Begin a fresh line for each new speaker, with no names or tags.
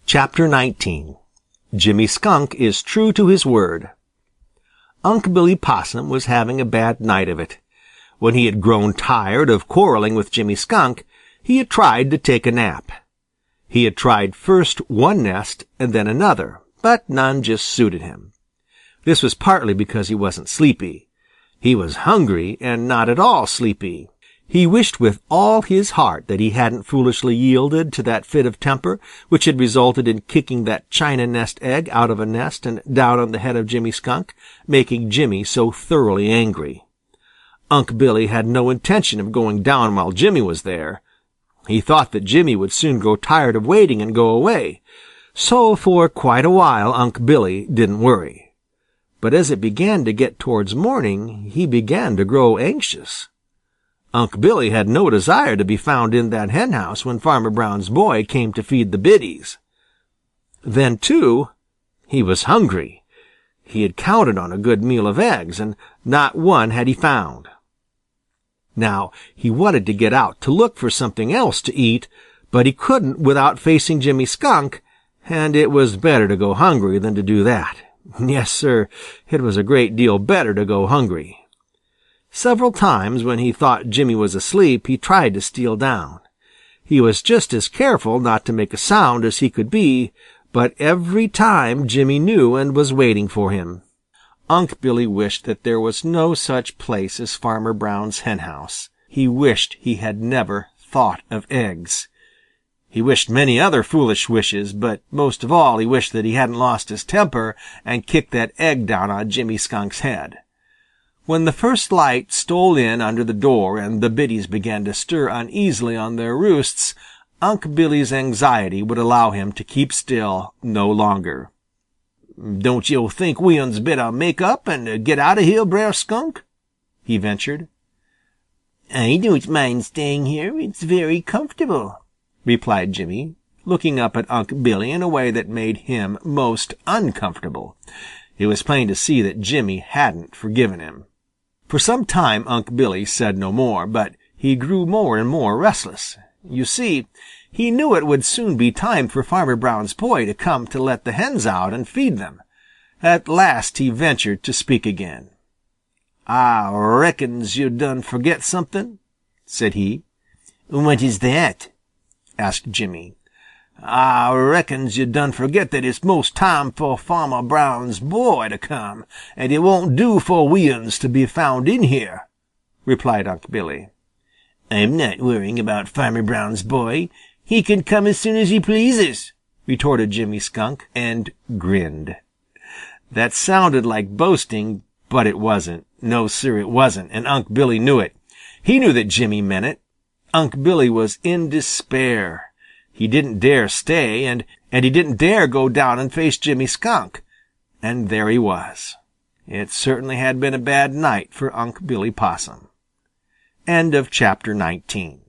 Chapter 19 Jimmy Skunk is True to His Word. Unc' Billy Possum was having a bad night of it. When he had grown tired of quarreling with Jimmy Skunk, he had tried to take a nap. He had tried first one nest and then another, but none just suited him. This was partly because he wasn't sleepy. He was hungry and not at all sleepy. He wished with all his heart that he hadn't foolishly yielded to that fit of temper which had resulted in kicking that china nest egg out of a nest and down on the head of Jimmy Skunk, making Jimmy so thoroughly angry. Unc' Billy had no intention of going down while Jimmy was there. He thought that Jimmy would soon grow tired of waiting and go away. So for quite a while Unc' Billy didn't worry. But as it began to get towards morning, he began to grow anxious. Unc' Billy had no desire to be found in that henhouse when Farmer Brown's boy came to feed the biddies. Then, too, he was hungry. He had counted on a good meal of eggs, and not one had he found. Now he wanted to get out to look for something else to eat, but he couldn't without facing Jimmy Skunk, and it was better to go hungry than to do that. Yes, sir, it was a great deal better to go hungry. Several times when he thought Jimmy was asleep, he tried to steal down. He was just as careful not to make a sound as he could be, but every time Jimmy knew and was waiting for him. Unc' Billy wished that there was no such place as Farmer Brown's henhouse. He wished he had never thought of eggs. He wished many other foolish wishes, but most of all he wished that he hadn't lost his temper and kicked that egg down on Jimmy Skunk's head. When the first light stole in under the door and the biddies began to stir uneasily on their roosts, Unc' Billy's anxiety would allow him to keep still no longer. "Don't yo' think we uns better make up and get out of here, Brer Skunk?" he ventured. "I don't mind staying here. It's very comfortable," replied Jimmy, looking up at Unc' Billy in a way that made him most uncomfortable. It was plain to see that Jimmy hadn't forgiven him. For some time Unc' Billy said no more, but he grew more and more restless. You see, he knew it would soon be time for Farmer Brown's boy to come to let the hens out and feed them. At last he ventured to speak again. "Ah reckons yo' done forget something," said he. "What is that?" asked Jimmy. "Ah reckons yo' done forget that it's most time for Farmer Brown's boy to come, and it won't do for we uns to be found in here," replied Unc' Billy. "I'm not worrying about Farmer Brown's boy. He can come as soon as he pleases," retorted Jimmy Skunk, and grinned. That sounded like boasting, but it wasn't. No, sir, it wasn't, and Unc' Billy knew it. He knew that Jimmy meant it. Unc' Billy was in despair. He didn't dare stay, and he didn't dare go down and face Jimmy Skunk. And there he was. It certainly had been a bad night for Unc' Billy Possum. End of chapter 19.